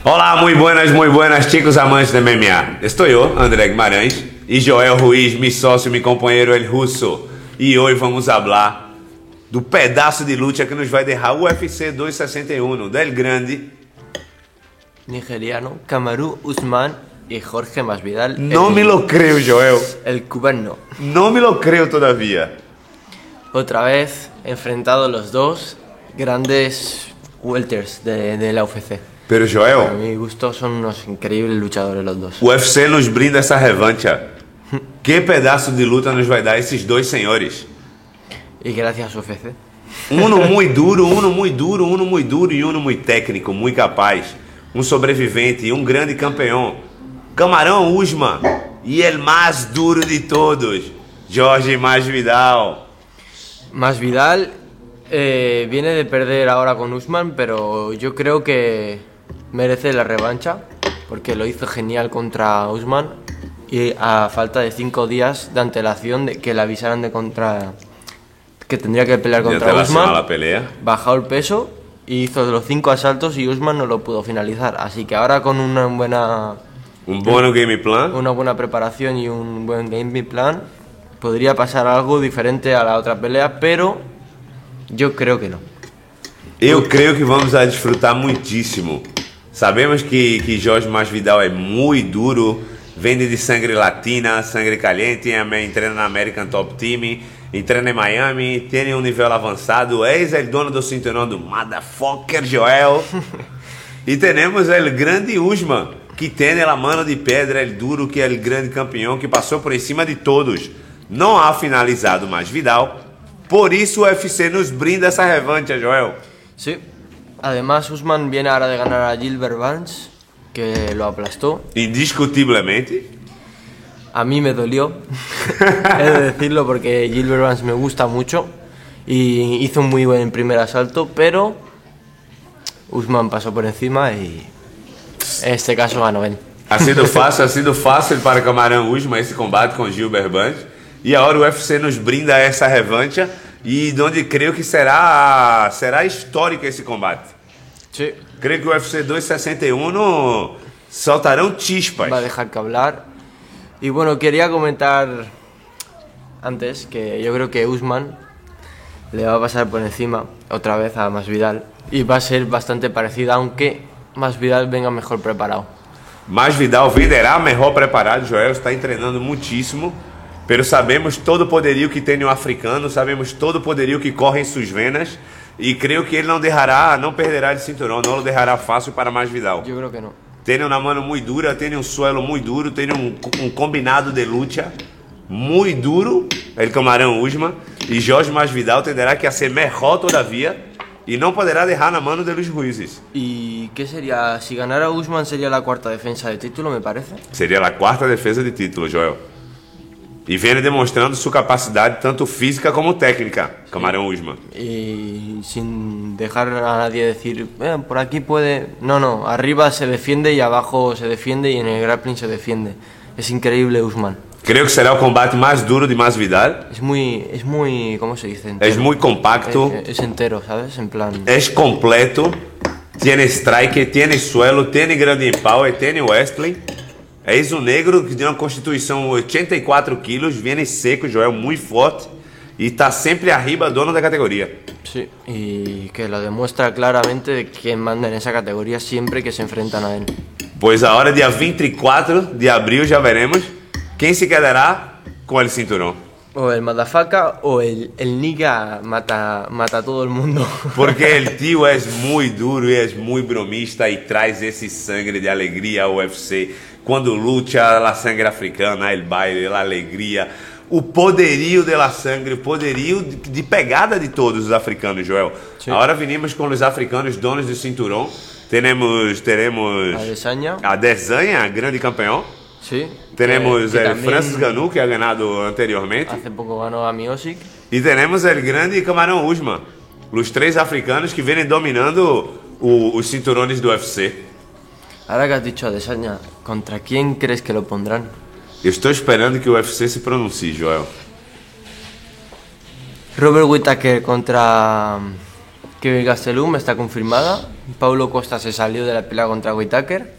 Olá, muy buenas chicos amantes de MMA. Estou eu, André Guimarães, e Joel Ruiz, mi sócio, mi companheiro El Russo. E hoje vamos falar do pedaço de luta que nos vai derrar o UFC 261 del grande nigeriano Kamaru Usman y Jorge Masvidal. No me lo creo, Joel. El cubano. No me lo creo todavía. Otra vez enfrentados los dos grandes welters de la UFC. Pero A Joel, mi gusto son unos increíbles luchadores los dos. o UFC nos brinda essa revancha. Que pedaço de luta nos vai dar esses dois senhores? Y gracias UFC. Uno muy duro, uno muy duro, uno muy duro e uno muy técnico, muy capaz. Um sobrevivente e um grande campeão. Camarão Usman e el mais duro de todos, Jorge Masvidal. Masvidal viene de perder ahora con Usman, pero yo creo que merece la revancha porque lo hizo genial contra Usman y a falta de 5 días de antelación de que le avisaran que tendría que pelear contra Usman, la pelea. bajó el peso y hizo los 5 asaltos y Usman no lo pudo finalizar, así que ahora con una buena Game plan. una buena preparación y un buen game plan podría pasar algo diferente a la otra pelea, pero yo creo que no. Eu creio que vamos a desfrutar muitíssimo. Sabemos que Jorge Masvidal é muito duro, vende de sangue latina, sangue caliente, entrena na American Top Team, entrena em Miami, tem um nível avançado, é o dono do cinturão do Motherfucker Joel. E temos o grande Usman, que tem a mano de pedra, el duro, que é o grande campeão, que passou por cima de todos. Não ha finalizado Masvidal, por isso o UFC nos brinda essa revancha, Joel. Sí. Además, Usman viene ahora de ganar a Gilbert Burns, que lo aplastó. Indiscutivelmente. A mí me dolió, he de decirlo, porque Gilbert Burns me gusta mucho y hizo un muy buen primer asalto, pero Usman pasó por encima y en este caso ganó él. Ha sido fácil para Camarão Usman esse combate com Gilbert Burns. E agora o UFC nos brinda essa revancha e onde creio que será histórico esse combate. Sí. Creio que o UFC 261 soltarão chispas. Va a dejar que hablar. Y bueno, quería comentar antes que yo creo que Usman le va a pasar por encima otra vez a Masvidal y va a ser bastante parecida, aunque Masvidal venga mejor preparado. Masvidal venderá melhor preparado, Joel está treinando muitíssimo, pero sabemos todo o poderio que tem o africano, sabemos todo o poderio que corre em suas venas e creio que ele não perderá o cinturão, não o deixará fácil para Masvidal. Yo creo que no. Tem uma mano muito dura, tem um suelo muito duro, tem um combinado de luta muito duro, el Camarão Usman, e Jorge Masvidal tenderá que ser melhor todavia e não poderá deixar na mano de los juízes. ¿Y qué sería? Si ganara Usman sería la cuarta defensa de título, me parece. Seria a quarta defesa de título, Joel. E vem demonstrando sua capacidade tanto física como técnica, Camarão Usman. Y sin dejar a nadie decir, por aquí puede... No, arriba se defiende y abajo se defiende y en el grappling se defiende. Es increíble Usman. Creio que será o combate mais duro de Masvidal. Es muy, ¿cómo se dice? Entero. É muito compacto. Es entero, ¿sabes? En plan... É completo. Tiene strike, tiene suelo, tiene grande power, tiene wrestling. É um negro que tem uma constituição 84 quilos, vem seco, Joel, muito forte e está sempre arriba dono da categoria. Sí, y que lo demuestra claramente de quién manda en esa categoría siempre que se enfrentan a él. Pois a hora dia 24 de abril já veremos quem se quedará com el cinturão. O el motherfucker o el nigga mata a todo el mundo. Porque el tio é muito duro e é muito bromista e traz esse sangue de alegria ao UFC. Quando luta a sangue africana, el baile, a alegria, o poderio de la sangue, o poderio de pegada de todos os africanos, Joel. Sim. Agora venimos com os africanos donos do cinturão. Teremos a Adesanya, grande campeão. Sí. Tenemos que el Francis Ngannou, que ha ganado anteriormente. Hace poco ganó a Miocic. E tenemos el grande Camarão Usman. Os três africanos que vêm dominando os cinturões do UFC. Ahora que has dicho Adesanya, ¿contra quién crees que lo pondrán? Eu estou esperando que o UFC se pronuncie, Joel. Robert Whittaker contra Kevin Gastelum está confirmada. Paulo Costa se salió de la pelea contra Whittaker.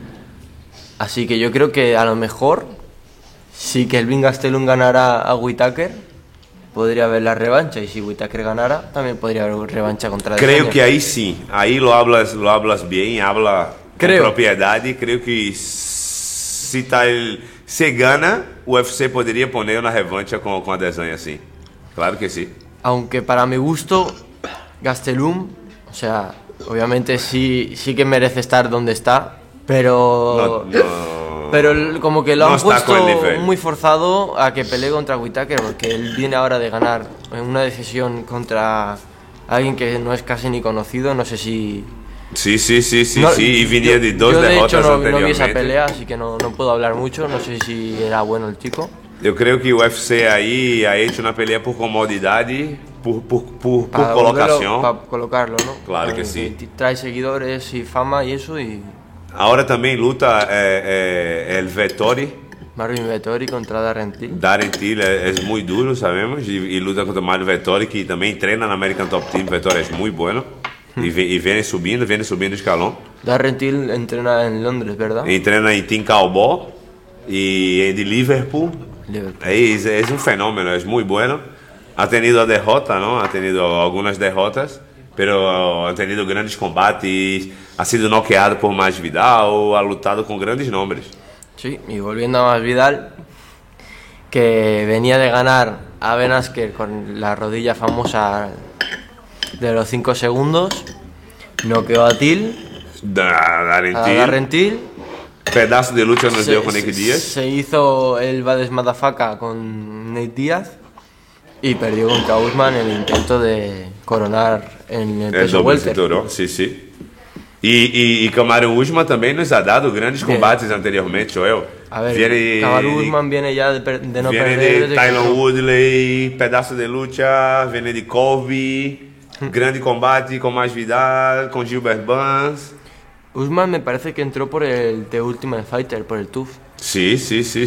Así que yo creo que a lo mejor, si Kelvin Gastelum ganara a Whittaker, podría haber la revancha. Y si Whittaker ganara, también podría haber revancha contra Creo Adesanya. que ahí sí. Ahí lo hablas bien, habla con propiedad. Creo que si se gana, o UFC podría poner una revancha con Adesanya, sí. Claro que sí. Aunque para mi gusto, Gastelum, o sea, obviamente sí que merece estar donde está, pero como que lo han puesto muy forzado a que pelee contra Whittaker, porque él viene ahora de ganar en una decisión contra alguien que no es casi ni conocido, no sé si... Sí, y venía de dos derrotas hecho, anteriormente. No vi esa pelea, así que no puedo hablar mucho, no sé si era bueno el chico. Eu creio que o UFC aí ha hecho una pelea por comodidade, por colocación. Para colocarlo, ¿no? Claro que sí. Trae seguidores y fama y eso y... Ahora também luta el Vettori. Marvin Vettori contra Darren Till. Darren Till es muy duro, sabemos, y luta contra Marvin Vettori, que também treina na American Top Team. Vettori es muy bueno y viene subindo escalón. Darren Till entrena en Londres, ¿verdad? Entrena em Team Cowboy y de Liverpool. Es un fenómeno, es muy bueno. Ha tenido derrota, ¿no? Ha tenido algunas derrotas, pero ha tenido grandes combates, ha sido noqueado por Masvidal, ha lutado con grandes nombres. Sí, y volviendo a Masvidal, que venía de ganar a Ben Askren con la rodilla famosa de los 5 segundos, noqueó a Till, Darren Till. Pedazo de lucha nos dio con Nate Diaz. Se hizo el Bades Madafaka con Nate Diaz y perdió contra Usman en el intento de coronar en el peso welter. Sí. Y Kamaru Usman también nos ha dado grandes combates anteriormente, Joel. A ver, Kamaru Usman viene ya de no perder. Viene de Tyron Woodley, pedazo de lucha, viene de Colby, grande combate con Masvidal, con Gilbert Burns. Usman me parece que entró por el The Ultimate Fighter, por el TUF. Sí.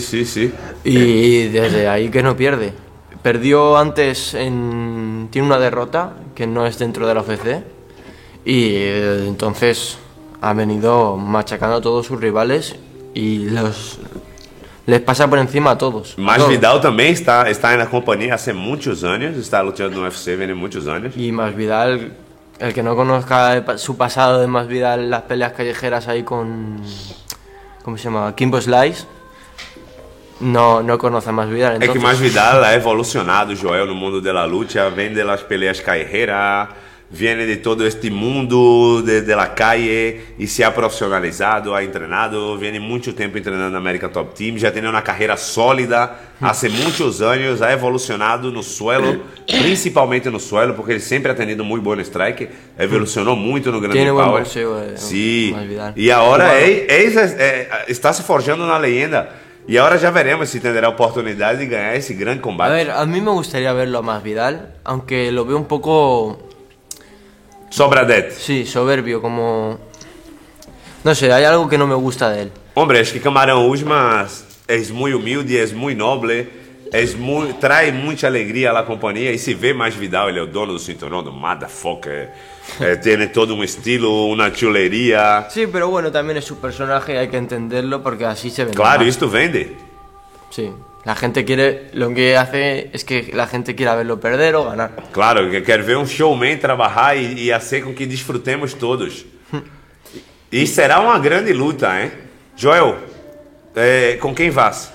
Y desde ahí que no pierde. Perdió antes tiene una derrota que no es dentro de la UFC. Y entonces ha venido machacando a todos sus rivales y les pasa por encima a todos. Masvidal también está en la compañía hace muchos años, está luchando en UFC, viene muchos años. Y Masvidal... El que no conozca su pasado de Masvidal, las peleas callejeras ahí con... ¿Cómo se llama? Kimbo Slice. No conoce a Masvidal. Entonces... Es que Masvidal ha evolucionado, Joel, no mundo de la lucha. Viene de las peleas callejeras, viene de todo este mundo de la calle y se ha profesionalizado, ha entrenado, viene mucho tiempo entrenando en American Top Team, ya tiene una carrera sólida hace muchos años, ha evolucionado no suelo, principalmente no suelo, porque ele sempre ha tenido muy buen strike, evolucionó muito no grande power. Tiene buen boxeo, sí. Y ahora está se forjando una leyenda. Y ahora ya veremos si tendrá oportunidad de ganar ese gran combate. A ver, a mí me gustaría verlo a Masvidal, aunque lo veo un poco... Sobradet. Sí, soberbio, como... No sé, hay algo que no me gusta de él. Hombre, es que Camarón Usman es muy humilde, es muy noble, trae mucha alegría a la compañía y se ve Masvidal, ele é o dono do cinturón, do motherfucker, tiene todo un estilo, una chulería. Sí, pero bueno, también es su personaje y hay que entenderlo porque así se vende. Claro, más. esto vende. Sí, la gente quiere, lo que hace es que la gente quiera verlo perder o ganar. Claro, que quer ver um showman trabalhar e hacer com que desfrutemos todos. E será uma grande luta, hein? Joel, ¿con quién vas?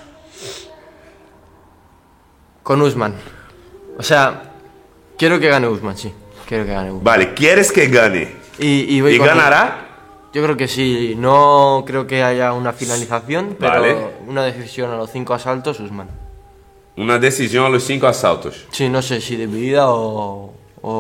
Con Usman. O sea, quiero que gane Usman, sí. Quiero que gane Usman. Vale, ¿quieres que gane? ¿Y ganará? Yo creo que sí. No creo que haya una finalización, pero vale. Una decisión a los 5 asaltos, Usman. Una decisión a los 5 asaltos. Sí, no sé si dividida o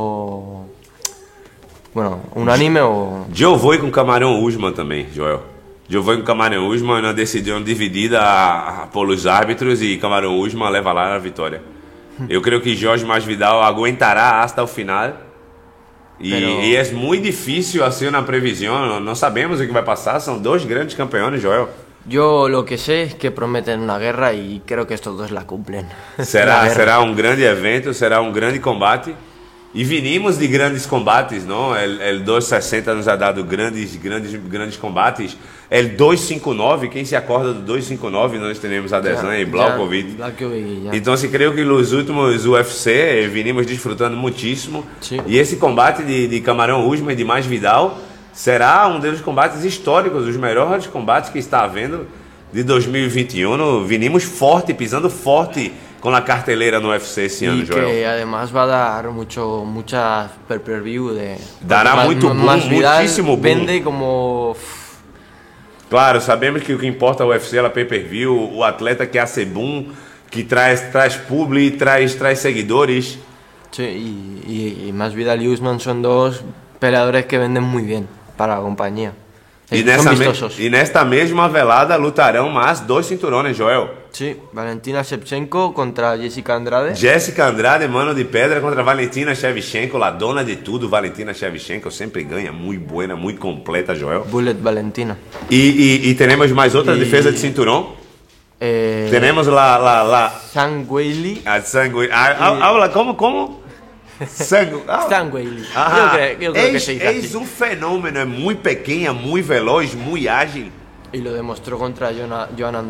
bueno, unánime o... Yo voy con Camarón Usman también, Joel. Yo voy con Camarón Usman en una decisión dividida por los árbitros y Camarón Usman leva lá a vitória. Eu creo que Jorge Masvidal aguentará hasta el final. E é muito difícil hacer una previsión, no sabemos o que vai passar, são dois grandes campeones, Joel. Yo lo que sé es que prometen una guerra y creo que estos dos la cumplen. Será un grande evento, será un grande combate. E vinimos de grandes combates, não? El 260 nos ha dado grandes combates. El 259, quem se acorda do 259, nós temos Adesanya e Blachowicz. Então, se creio que nos últimos UFC vinimos desfrutando muitíssimo. Sim. E esse combate de Kamaruan Usman e de Masvidal será um dos combates históricos, os melhores combates que está havendo de 2021. Vinimos forte, pisando forte con la cartelera no UFC esse ano, Joel. Que además va a dar mucha pay-per-view de... Dará muito boom, muitíssimo boom. Vende como... Claro, sabemos que o que importa é o UFC, ela pay-per-view, o atleta que hace boom, que traz publi, traz seguidores. Sí, y Masvidal y Usman son dos peleadores que venden muy bien para la compañía. E nesta mesma velada lutarão mais 2 cinturões, Joel. Sí, Valentina Shevchenko contra Jessica Andrade. Jessica Andrade, mano de pedra, contra Valentina Shevchenko, la dona de tudo. Valentina Shevchenko sempre ganha, muito buena, muito completa, Joel. Bullet Valentina. E teremos mais outra defesa de cinturão. Temos lá Zhang Weili. A Zhang Weili. Habla, como? Zhang Weili. Yo creo que se dice así. Es un fenómeno, es muy pequeña, muy veloz, muy ágil. Y lo demostró contra Joanna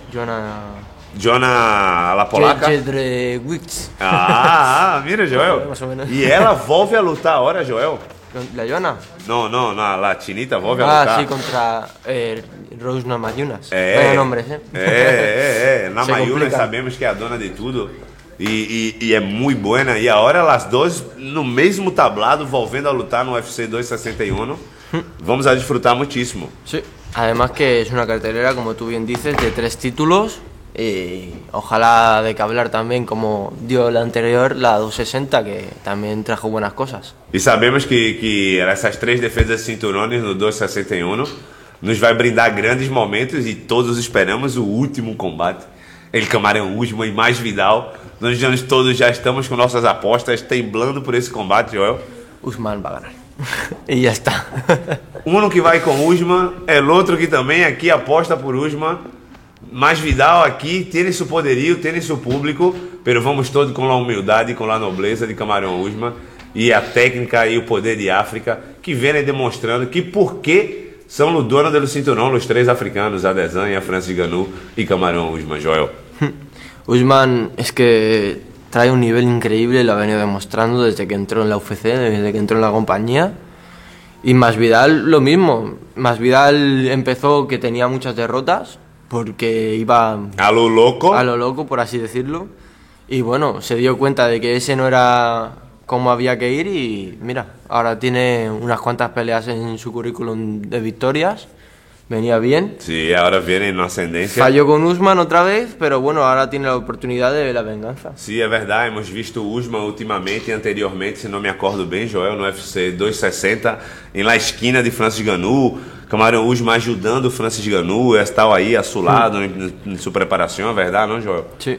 la polaca. Jedrzejewicz. Mira, Joel. Más o menos. E ela volve a lutar agora, Joel. ¿La Joanna? No, la chinita volve a lutar. Sí, contra Rose Namajunas. Vaya nombres, Namajunas sabemos que é a dona de tudo. E é muito buena. E agora as duas no mesmo tablado, volvendo a lutar no UFC 261. Vamos a disfrutar muchísimo. Sí. Además que es una cartelera, como tú bien dices, de 3 títulos. Y ojalá de que hablar también, como dio la anterior, la 260, que también trajo buenas cosas. E sabemos que essas 3 defesas de cinturões no 261 nos vai brindar grandes momentos e todos esperamos o último combate. El Kamaruan Usman e Masvidal. Nós todos já estamos com nossas apostas temblando por esse combate, Joel. Usman va a ganar. E já está. Um que vai com Usman, el outro que também aqui aposta por Usman. Masvidal aqui tem seu poderio, tem seu público, pero vamos todos com a humildade e com a nobleza de Kamaruan Usman e a técnica e o poder de África que vem demonstrando que por que são os donos do cinturão, os 3 africanos, Adesanya, Francis Ngannou e Kamaruan Usman, Joel. Usman es que trae un nivel increíble, lo ha venido demostrando desde que entró en la UFC, desde que entró en la compañía. Y Masvidal lo mismo. Masvidal empezó que tenía muchas derrotas porque iba a lo loco, por así decirlo. Y bueno, se dio cuenta de que ese no era como había que ir y mira, ahora tiene unas cuantas peleas en su currículum de victorias. Venía bien. Sí, ahora viene en ascendencia. Falló con Usman otra vez, pero bueno, ahora tiene la oportunidad de la venganza. Sí, é verdade. Hemos visto Usman ultimamente e anteriormente, se não me acordo bem, Joel, no UFC 260, em la esquina de Francis Ngannou. Kamaruan Usman ajudando Francis Ngannou, estava aí assolado em sua preparação, é verdade, não, Joel? Sim.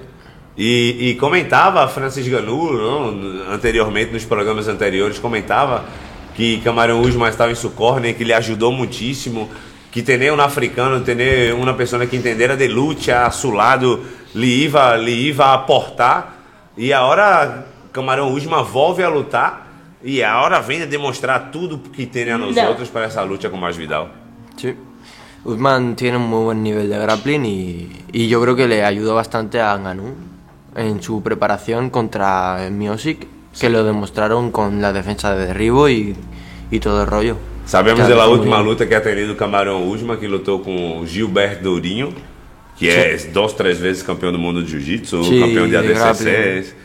E comentava Francis Ngannou, não, anteriormente, nos programas anteriores, comentava que Kamaruan Usman estava em seu corner, que ele ajudou muitíssimo. Que tener un africano, tener una persona que entendiera de lucha a su lado, le iba a aportar. E agora Kamaruan Usman volve a lutar e agora vem a demonstrar tudo que tem a nós outros para essa luta com Masvidal. Sí. Usman tiene un muy buen nivel de grappling y yo creo que le ayudó bastante a Ngannou en su preparación contra Miocic, que lo demostraron con la defensa de derribo y todo el rollo. Sabemos da última luta que ha tenido Kamaruan Usman, que lutou com Gilberto Dourinho, que é 2-3 vezes campeão do mundo de Jiu-Jitsu, campeão de ADCC.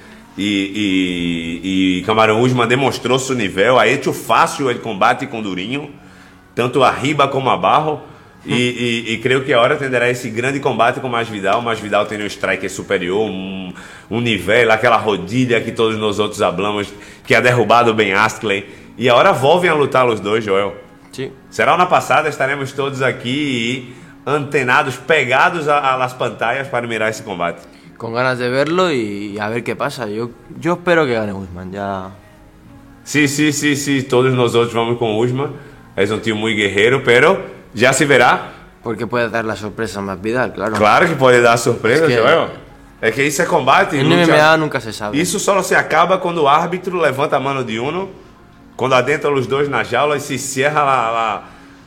E Kamaruan Usman demonstrou seu nível, ha hecho fácil o combate com Dourinho, tanto arriba como abaixo. E creio que agora terá esse grande combate com Masvidal. Masvidal tem um striker superior, um nível, aquela rodilha que todos nós outros hablamos, que ha derrubado Ben Askren. E agora volvem a lutar os dois, Joel. Sim. Será na passada, estaremos todos aqui antenados, pegados às pantallas para mirar esse combate. Com ganas de verlo e a ver que passa. Eu espero que gane Usman. Já. Sí, todos nós outros vamos com Usman. É um time muito guerreiro, pero já se verá. Porque pode dar a surpresa a Masvidal, claro. Claro que pode dar surpresa, Joel. É que isso é combate. En lucha. MMA nunca se sabe. Isso só se acaba quando o árbitro levanta a mano de uno, quando adentram os dois na jaula e se cierra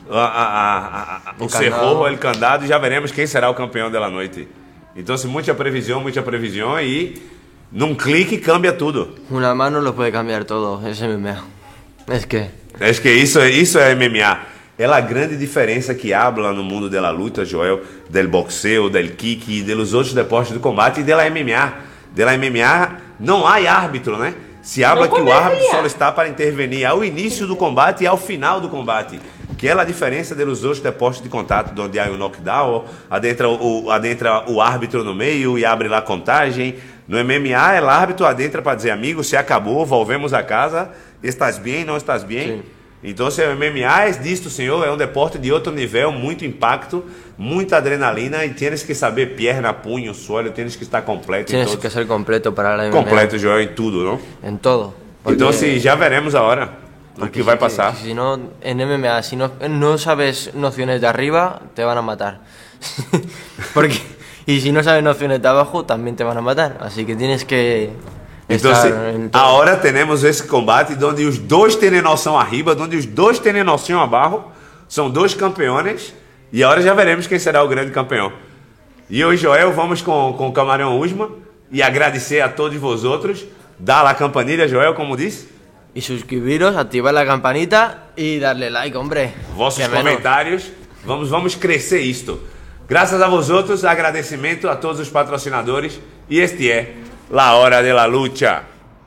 o cerrojo, o candado, e já veremos quem será o campeão da noite. Então, muita previsão e num clique cambia tudo. Una mano lo puede cambiar todo, es MMA. Es que Isso é MMA. É a grande diferença que habla no mundo da luta, Joel, del boxeo, del kick e dos outros deportes do combate e da MMA. Da MMA não há árbitro, né? Se habla que o árbitro só está para intervenir ao início do combate e ao final do combate. Que é a diferença dos outros deportes de contato, onde há o knockdown, adentra o árbitro no meio e abre lá a contagem. No MMA, o árbitro adentra para dizer, amigo, se acabou, volvemos a casa, estás bem, não estás bem? Sim. Então, o MMA é disto, senhor, é um deporte de outro nível, muito impacto, muita adrenalina e tienes que saber perna, punho, suelo, tienes que estar completo. Tienes que ser completo para la MMA. Completo, Joel, em tudo, não? Em todo. Porque... Então, já veremos a hora do que vai passar. Si no, en MMA, si no sabes nociones de arriba, te van a matar. Y si no sabes nociones de abajo, también te van a matar. Así que tienes que... Então, agora temos esse combate onde os dois têm noção arriba, onde os dois têm noção abaixo. São dois campeões e agora já veremos quem será o grande campeão. E eu e Joel vamos com o Camarão Usman e agradecer a todos vosotros. Dá a campanilha, Joel, como disse. Y suscribiros, activar la campanita y darle like, hombre. Vossos comentários. Vamos crescer isto. Graças a vosotros, agradecimento a todos os patrocinadores. E este é La Hora de la Lucha.